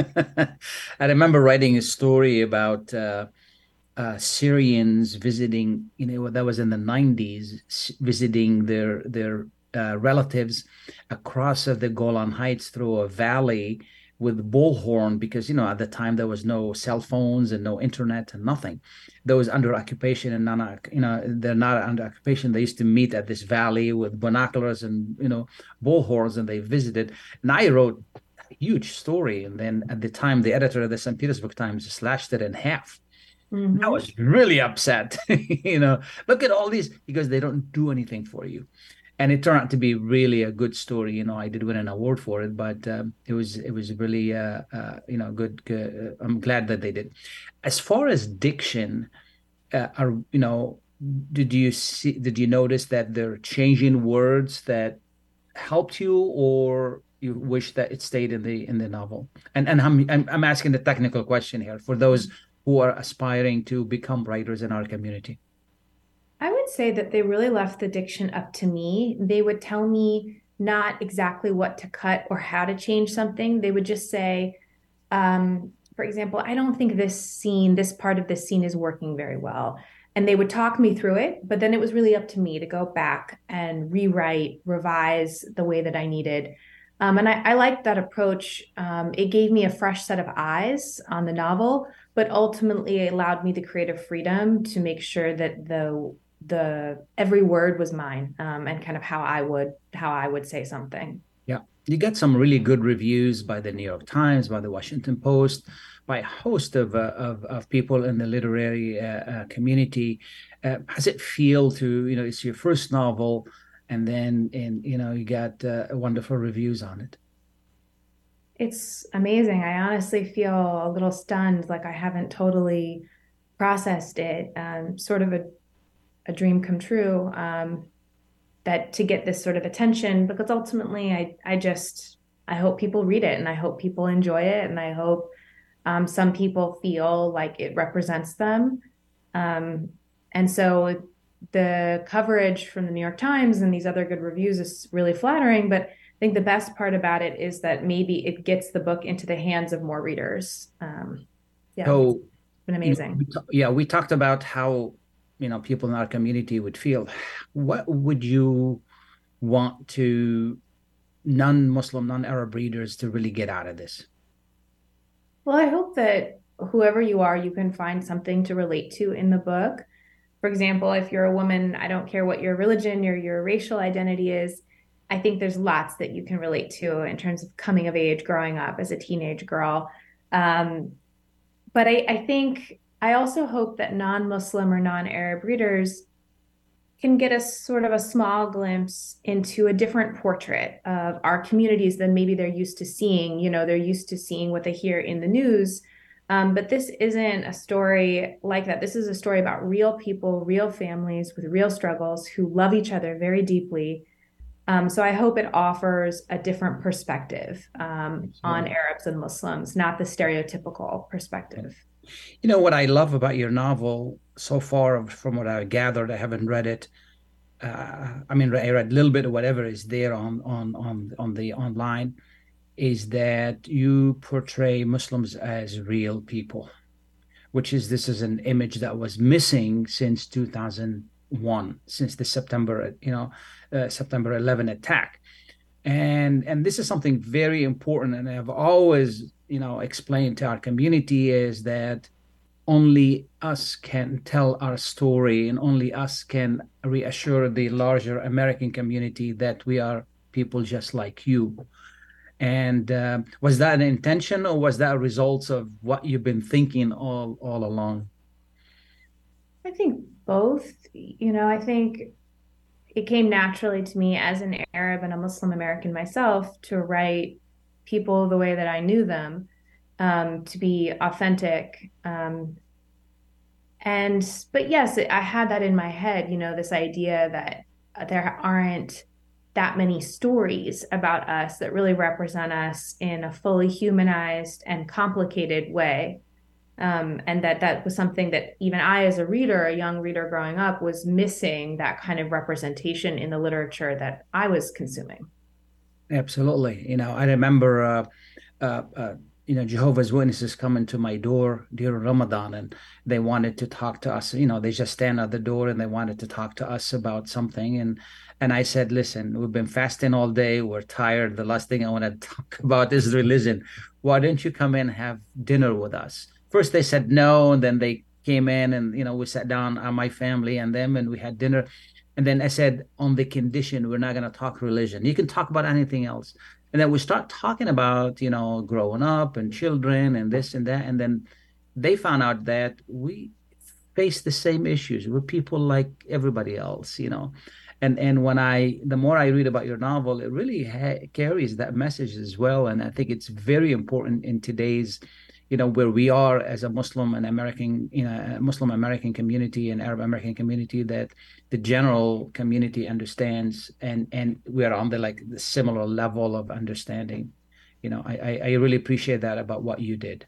I remember writing a story about uh, uh, Syrians visiting, you know, that was in the nineties, visiting their their uh, relatives across of the Golan Heights through a valley with bullhorn, because, you know, at the time there was no cell phones and no internet and nothing. Those under occupation and non, you know, they're not under occupation. They used to meet at this valley with binoculars and, you know, bullhorns, and they visited. And I wrote a huge story. And then at the time, the editor of the Saint Petersburg Times slashed it in half. Mm-hmm. I was really upset. You know, look at all these, because they don't do anything for you. And it turned out to be really a good story. You know, I did win an award for it, but um, it was it was really, uh, uh, you know, good. good. I'm glad that they did. As far as diction, uh, are you know, did you see? Did you notice that they're changing words that helped you, or you wish that it stayed in the in the novel? And and I'm I'm, I'm asking the technical question here for those who are aspiring to become writers in our community. I would say that they really left the diction up to me. They would tell me not exactly what to cut or how to change something. They would just say, um, for example, I don't think this scene, this part of this scene is working very well. And they would talk me through it, but then it was really up to me to go back and rewrite, revise the way that I needed. Um, and I, I liked that approach. Um, it gave me a fresh set of eyes on the novel, but ultimately it allowed me the creative freedom to make sure that the the every word was mine, um, and kind of how I would how I would say something. Yeah, you got some really good reviews by the New York Times, by the Washington Post, by a host of uh, of, of people in the literary uh, uh, community. Uh, how does it feel to, you know, it's your first novel, and then in you know you got uh, wonderful reviews on it? It's amazing. I honestly feel a little stunned, like I haven't totally processed it. Um, sort of a a dream come true. Um, that to get this sort of attention, because ultimately I, I just, I hope people read it and I hope people enjoy it. And I hope um, some people feel like it represents them. Um, and so the coverage from the New York Times and these other good reviews is really flattering, but I think the best part about it is that maybe it gets the book into the hands of more readers. Um, yeah, so, it's been amazing. We t- yeah, we talked about how, you know, people in our community would feel. What would you want to non-Muslim, non-Arab readers to really get out of this? Well, I hope that whoever you are, you can find something to relate to in the book. For example, if you're a woman, I don't care what your religion or your racial identity is, I think there's lots that you can relate to in terms of coming of age, growing up as a teenage girl. Um, but I, I think I also hope that non-Muslim or non-Arab readers can get a sort of a small glimpse into a different portrait of our communities than maybe they're used to seeing. You know, they're used to seeing what they hear in the news. Um, but this isn't a story like that. This is a story about real people, real families with real struggles who love each other very deeply. Um, so I hope it offers a different perspective um, on Arabs and Muslims, not the stereotypical perspective. You know, what I love about your novel so far, from what I gathered, I haven't read it. Uh, I mean, I read a little bit of whatever is there on on on on the online, is that you portray Muslims as real people, which is this is an image that was missing since two thousand one, since the September, you know, uh, September eleventh attack, and and this is something very important, and I've always, you know, explained to our community is that only us can tell our story, and only us can reassure the larger American community that we are people just like you. And uh, was that an intention, or was that a result of what you've been thinking all all along? I think both. You know, I think it came naturally to me as an Arab and a Muslim American myself to write people the way that I knew them, um, to be authentic. Um, and, but yes, I had that in my head, you know, this idea that there aren't that many stories about us that really represent us in a fully humanized and complicated way. Um, and that that was something that even I, as a reader, a young reader growing up, was missing, that kind of representation in the literature that I was consuming. Absolutely. You know, I remember, uh, uh, uh, you know, Jehovah's Witnesses coming to my door during Ramadan, and they wanted to talk to us. You know, they just stand at the door and they wanted to talk to us about something. And and I said, listen, we've been fasting all day. We're tired. The last thing I want to talk about is religion. Why don't you come in and have dinner with us? First, they said no, and then they came in, and, you know, we sat down, uh, my family and them, and we had dinner. And then I said, on the condition, we're not going to talk religion. You can talk about anything else. And then we start talking about, you know, growing up and children and this and that. And then they found out that we face the same issues. We're people like everybody else, you know. And and when I, the more I read about your novel, it really ha- carries that message as well. And I think it's very important in today's, you know, where we are as a Muslim and American, you know, Muslim American community and Arab American community, that the general community understands, and and we are on the like the similar level of understanding. You know, I I really appreciate that about what you did.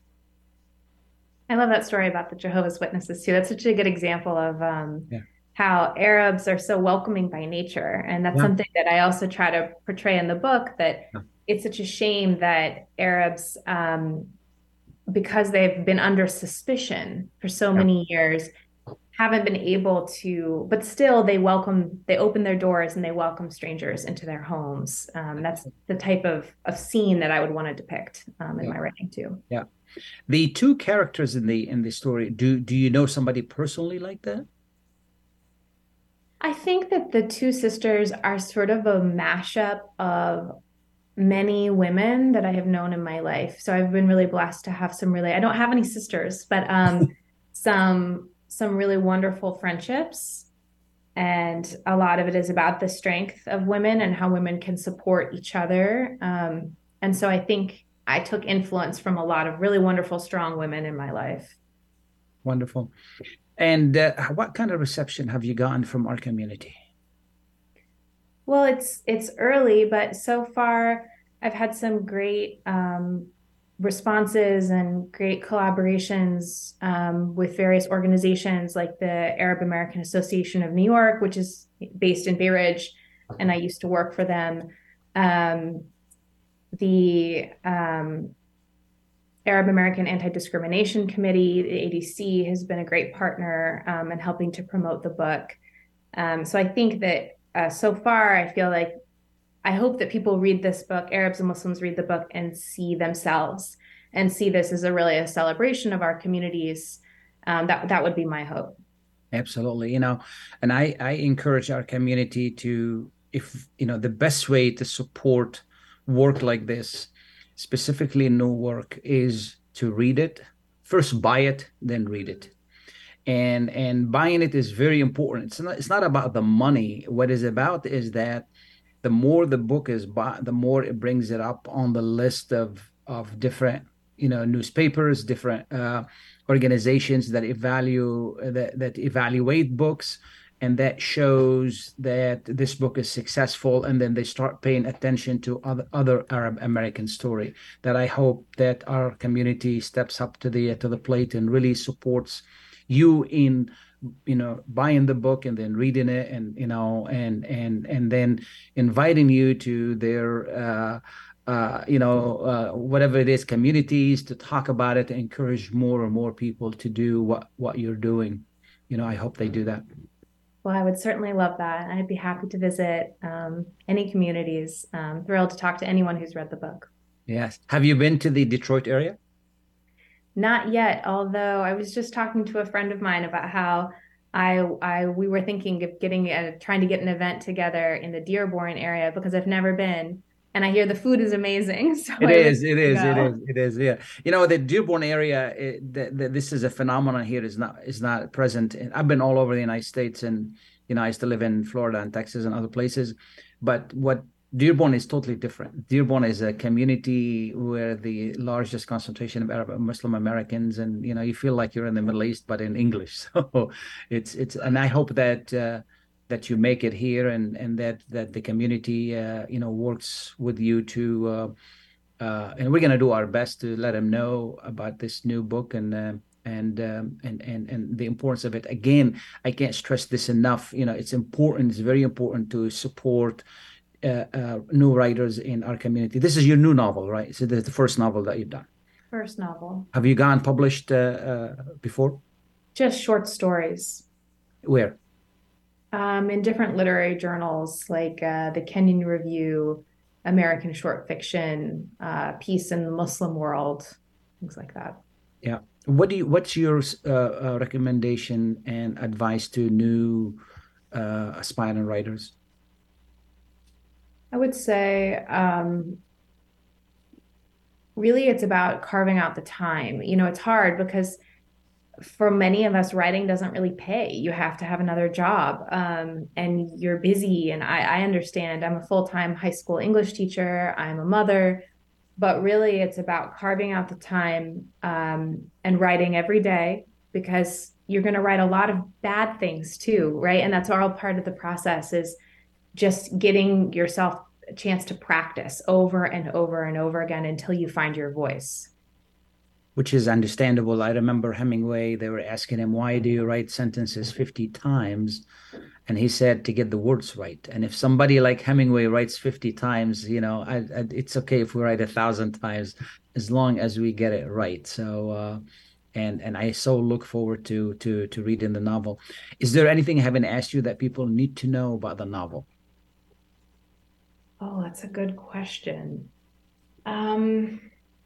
I love that story about the Jehovah's Witnesses too. That's such a good example of um, yeah. how Arabs are so welcoming by nature, and that's yeah. something that I also try to portray in the book. That yeah. it's such a shame that Arabs. Um, because they've been under suspicion for so Yeah. many years, haven't been able to, but still they welcome, they open their doors and they welcome strangers into their homes. Um, that's the type of, of scene that I would want to depict um, in Yeah. my writing too. Yeah. The two characters in the in the story, do do you know somebody personally like that? I think that the two sisters are sort of a mashup of many women that I have known in my life. So I've been really blessed to have some really, I don't have any sisters, but um, some some really wonderful friendships. And a lot of it is about the strength of women and how women can support each other. Um, and so I think I took influence from a lot of really wonderful, strong women in my life. Wonderful. And uh, what kind of reception have you gotten from our community? Well, it's it's early, but so far I've had some great um, responses and great collaborations um, with various organizations like the Arab American Association of New York, which is based in Bay Ridge, and I used to work for them. Um, the um, Arab American Anti-Discrimination Committee, the A D C, has been a great partner um, in helping to promote the book. Um, so I think that uh, so far, I feel like I hope that people read this book, Arabs and Muslims read the book and see themselves and see this as a really a celebration of our communities. Um, that that would be my hope. Absolutely. You know, and I, I encourage our community to, if, you know, the best way to support work like this, specifically new work, is to read it. First, buy it, then read it. And and buying it is very important. It's not, it's not about the money. What it's about is that the more the book is bought, the more it brings it up on the list of of different, you know, newspapers, different uh, organizations that evaluate that, that evaluate books, and that shows that this book is successful, and then they start paying attention to other other Arab American story. That I hope that our community steps up to the to the plate and really supports you in, you know, buying the book and then reading it, and, you know, and and and then inviting you to their uh uh you know uh whatever it is, communities, to talk about it, to encourage more and more people to do what what you're doing. You know, I hope they do that. Well, I would certainly love that. I'd be happy to visit um, any communities. Um, thrilled to talk to anyone who's read the book. Yes. Have you been to the Detroit area? Not yet, although I was just talking to a friend of mine about how I, I we were thinking of getting a, trying to get an event together in the Dearborn area because I've never been, and I hear the food is amazing. So It I is, would it is, go. it is, it is. Yeah, you know, the Dearborn area, it, the, the, this is a phenomenon here. Is not is not present. And I've been all over the United States, and, you know, I used to live in Florida and Texas and other places. But what Dearborn is totally different. Dearborn is a community where the largest concentration of Arab Muslim Americans, and, you know, you feel like you're in the Middle East, but in English. So it's it's, and I hope that uh, that you make it here, and and that that the community uh, you know, works with you to, uh, uh, and we're gonna do our best to let them know about this new book, and. Uh, and um, and and and the importance of it. Again, I can't stress this enough. You know, it's important. It's very important to support Uh, uh, new writers in our community. This is your new novel, right? So this is the first novel that you've done. First novel. Have you gone published uh, uh, before? Just short stories. Where? Um, in different literary journals like uh, the Kenyon Review, American Short Fiction, uh, Peace in the Muslim World, things like that. Yeah. What do you? What's your uh, uh, recommendation and advice to new uh, aspiring writers? I would say um, really it's about carving out the time. You know, it's hard because for many of us, writing doesn't really pay. You have to have another job um, and you're busy. And I, I understand I'm a full-time high school English teacher. I'm a mother, but really it's about carving out the time um, and writing every day, because you're going to write a lot of bad things too, right? And that's all part of the process, is just getting yourself a chance to practice over and over and over again until you find your voice. Which is understandable. I remember Hemingway, they were asking him, why do you write sentences fifty times? And he said, to get the words right. And if somebody like Hemingway writes fifty times, you know, I, I, it's okay if we write a thousand times. as long as we get it right. So, uh, and and I so look forward to to to reading the novel. Is there anything I haven't asked you that people need to know about the novel? Oh, that's a good question. Um,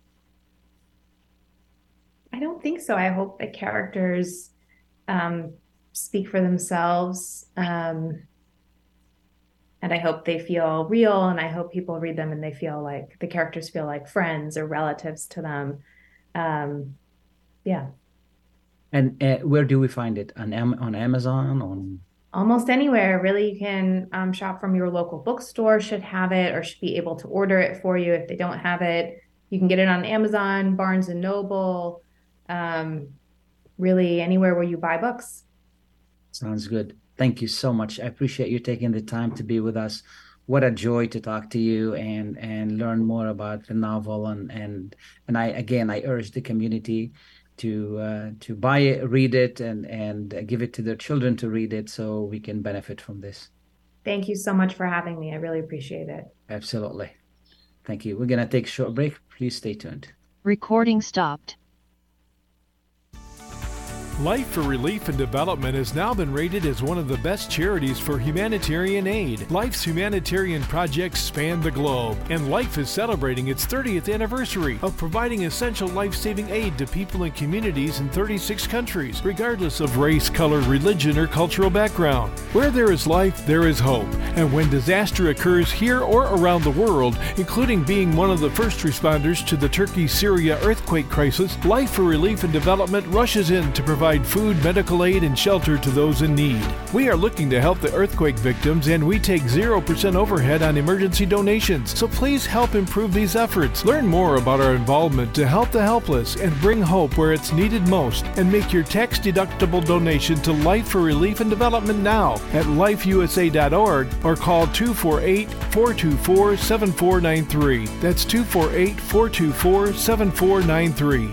I don't think so. I hope the characters um, speak for themselves. Um, and I hope they feel real, and I hope people read them and they feel like the characters feel like friends or relatives to them. Um, yeah. And uh, where do we find it? On Am- on Amazon? On Almost anywhere, really. You can um, shop from your local bookstore, should have it, or should be able to order it for you if they don't have it. You can get it on Amazon, Barnes and Noble, um, really anywhere where you buy books. Sounds good. Thank you so much. I appreciate you taking the time to be with us. What a joy to talk to you and and learn more about the novel. And and and I again I urge the community to uh, to buy it, read it, and and give it to their children to read it, so we can benefit from this. Thank you so much for having me. I really appreciate it. Absolutely. Thank you. We're gonna take a short break. Please stay tuned. Recording stopped. Life for Relief and Development has now been rated as one of the best charities for humanitarian aid. Life's humanitarian projects span the globe, and Life is celebrating its thirtieth anniversary of providing essential life-saving aid to people and communities in thirty-six countries, regardless of race, color, religion, or cultural background. Where there is life, there is hope. And when disaster occurs here or around the world, including being one of the first responders to the Turkey-Syria earthquake crisis, Life for Relief and Development rushes in to provide food, medical aid, and shelter to those in need. We are looking to help the earthquake victims, and we take zero percent overhead on emergency donations. So please help improve these efforts. Learn more about our involvement to help the helpless and bring hope where it's needed most, and make your tax-deductible donation to Life for Relief and Development now at life u s a dot org or call two four eight, four two four, seven four nine three. That's two four eight, four two four, seven four nine three.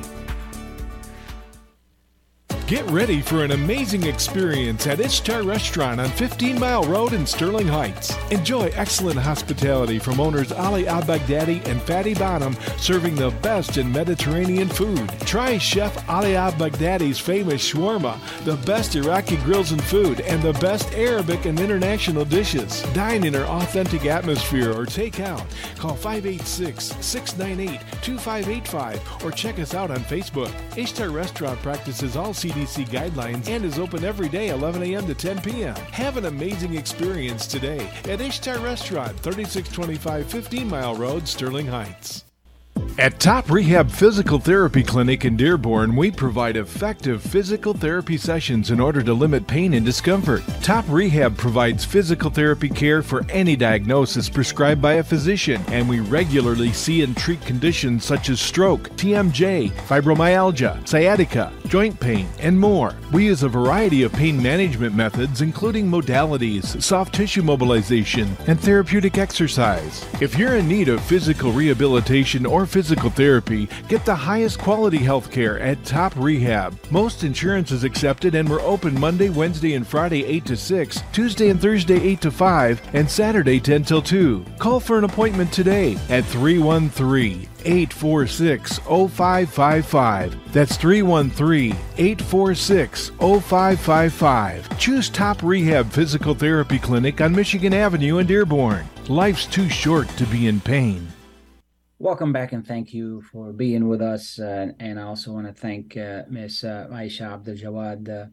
Get ready for an amazing experience at Ishtar Restaurant on fifteen mile Road in Sterling Heights. Enjoy excellent hospitality from owners Ali Al-Baghdadi and Fatty Bonham, serving the best in Mediterranean food. Try Chef Ali Al-Baghdadi's famous shawarma, the best Iraqi grills and food, and the best Arabic and international dishes. Dine in our authentic atmosphere or take out. Call five eight six, six nine eight, two five eight five or check us out on Facebook. Ishtar Restaurant practices all C D C guidelines and is open every day eleven a m to ten p m Have an amazing experience today at Ishtar Restaurant, thirty-six twenty-five fifteen mile Road, Sterling Heights. At Top Rehab Physical Therapy Clinic in Dearborn, we provide effective physical therapy sessions in order to limit pain and discomfort. Top Rehab provides physical therapy care for any diagnosis prescribed by a physician, and we regularly see and treat conditions such as stroke, T M J, fibromyalgia, sciatica, joint pain, and more. We use a variety of pain management methods, including modalities, soft tissue mobilization, and therapeutic exercise. If you're in need of physical rehabilitation or physical therapy, get the highest quality health care at Top Rehab. Most insurance is accepted, and we're open Monday, Wednesday, and Friday eight to six, Tuesday and Thursday eight to five, and Saturday ten till two. Call for an appointment today at three one three, eight four six, zero five five five. That's three one three, eight four six, zero five five five. Choose Top Rehab Physical Therapy Clinic on Michigan Avenue in Dearborn. Life's too short to be in pain. Welcome back, and thank you for being with us. Uh, and I also want to thank uh, Miss uh, Aisha Abdul Jawad uh,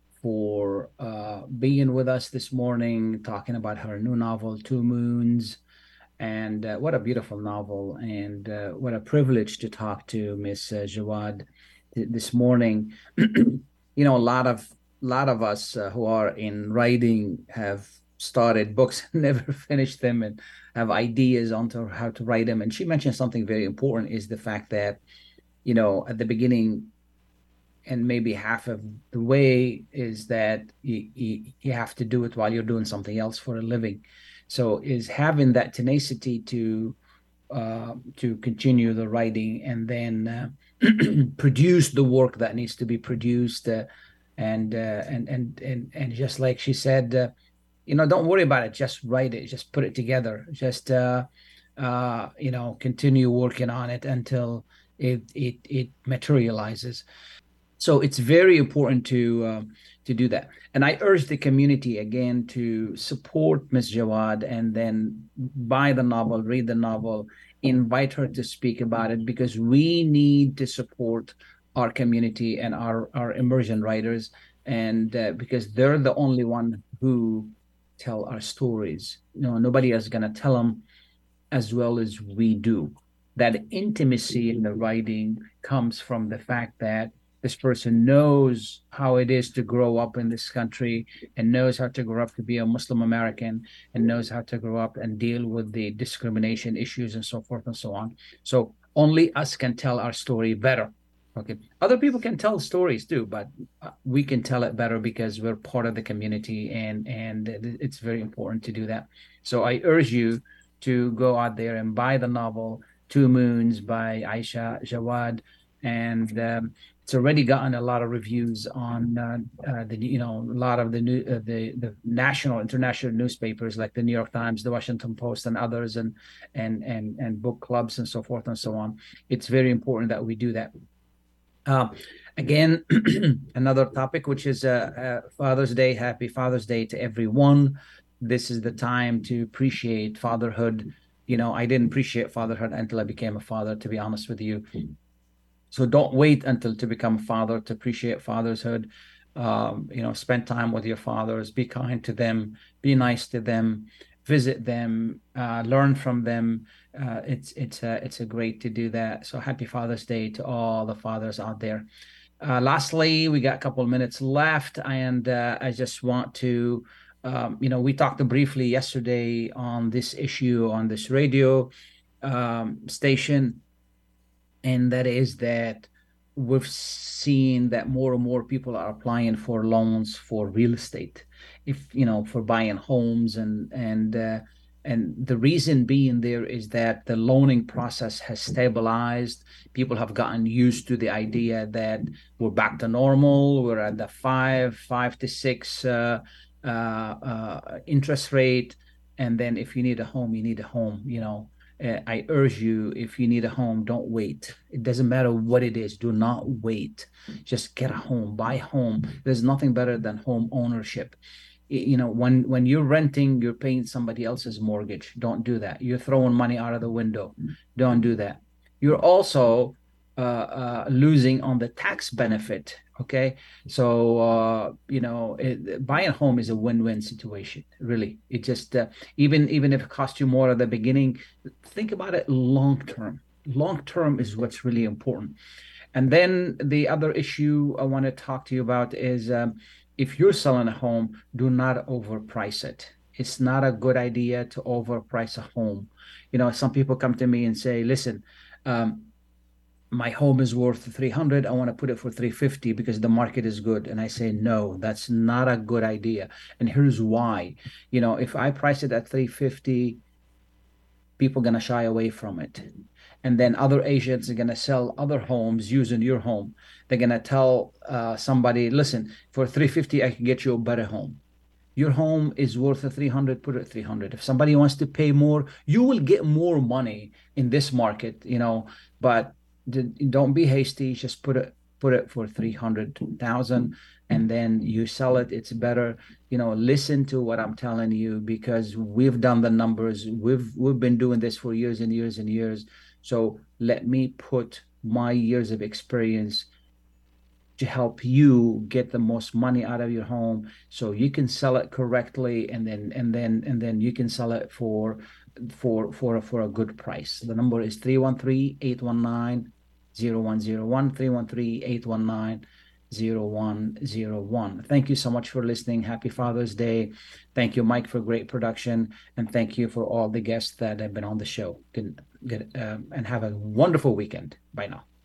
for uh, being with us this morning, talking about her new novel, Two Moons. And uh, what a beautiful novel, and uh, what a privilege to talk to Miss uh, Jawad th- this morning. You know, a lot of lot of us uh, who are in writing have started books and never finished them, and have ideas on to how to write them. And she mentioned something very important, is the fact that, you know, at the beginning, and maybe half of the way, is that you, you, you have to do it while you're doing something else for a living. So is having that tenacity to uh, to continue the writing, and then uh, produce the work that needs to be produced, uh, and, uh, and and and and just like she said, uh, you know, don't worry about it. Just write it. Just put it together. Just uh, uh, you know, continue working on it until it it it materializes. So it's very important to uh, to do that. And I urge the community again to support Miss Jawad, and then buy the novel, read the novel, invite her to speak about it, because we need to support our community and our our immersion writers, and uh, because they're the only one who tell our stories. You know, nobody else is gonna tell them as well as we do. That intimacy in the writing comes from the fact that this person knows how it is to grow up in this country, and knows how to grow up to be a Muslim American, and knows how to grow up and deal with the discrimination issues and so forth and so on. So only us can tell our story better. Okay. Other people can tell stories too, but we can tell it better because we're part of the community, and and it's very important to do that. So I urge you to go out there and buy the novel Two Moons by Aisha Jawad, and um, it's already gotten a lot of reviews on uh, uh, the you know a lot of the new uh, the the national international newspapers like the New York Times, the Washington Post, and others, and and and and book clubs and so forth and so on. It's very important that we do that. Uh, again, another topic, which is uh, uh, Father's Day. Happy Father's Day to everyone. This is the time to appreciate fatherhood. You know, I didn't appreciate fatherhood until I became a father, to be honest with you. So don't wait until to become a father to appreciate fatherhood. Um, you know, spend time with your fathers, be kind to them, be nice to them, visit them, uh, learn from them. Uh, it's it's a, it's a great to do that. So happy Father's Day to all the fathers out there. Uh, lastly, we got a couple of minutes left, and uh, I just want to, um, you know, we talked briefly yesterday on this issue on this radio um, station, and that is that we've seen that more and more people are applying for loans for real estate, if you know, for buying homes, and and uh, and the reason being there is that the loaning process has stabilized. People have gotten used to the idea that we're back to normal. We're at the five, five to six uh, uh, uh, interest rate, and then if you need a home, you need a home. You know, uh, I urge you, if you need a home, don't wait. It doesn't matter what it is. Do not wait. Just get a home, buy a home. There's nothing better than home ownership. You know, when when you're renting, you're paying somebody else's mortgage. Don't do that. You're throwing money out of the window. Don't do that. You're also uh, uh, losing on the tax benefit. Okay, so uh, you know, it, buying a home is a win-win situation. Really, it just uh, even even if it costs you more at the beginning, think about it long term. Long term is what's really important. And then the other issue I want to talk to you about is. Um, If you're selling a home, do not overprice it. It's not a good idea to overprice a home. You know, some people come to me and say, listen, um, my home is worth three hundred. I want to put it for three fifty because the market is good. And I say, no, that's not a good idea. And here's why. You know, if I price it at three fifty, people are going to shy away from it. And then other agents are going to sell other homes using your home. They're going to tell uh, somebody, listen, for three fifty, I can get you a better home. Your home is worth a three hundred, put it at three hundred. If somebody wants to pay more, you will get more money in this market, you know, but don't be hasty. Just put it, put it for three hundred thousand, and then you sell it. It's better, you know, listen to what I'm telling you, because we've done the numbers. We've, we've been doing this for years and years and years. So let me put my years of experience to help you get the most money out of your home, so you can sell it correctly, and then and then and then you can sell it for for for for a good price. The number is three one three, eight one nine, zero one zero one, three one three, eight one nine, zero one zero one. Thank you so much for listening. Happy Father's Day. Thank you, Mike, for great production, and thank you for all the guests that have been on the show. Good, good, um, and have a wonderful weekend. Bye now.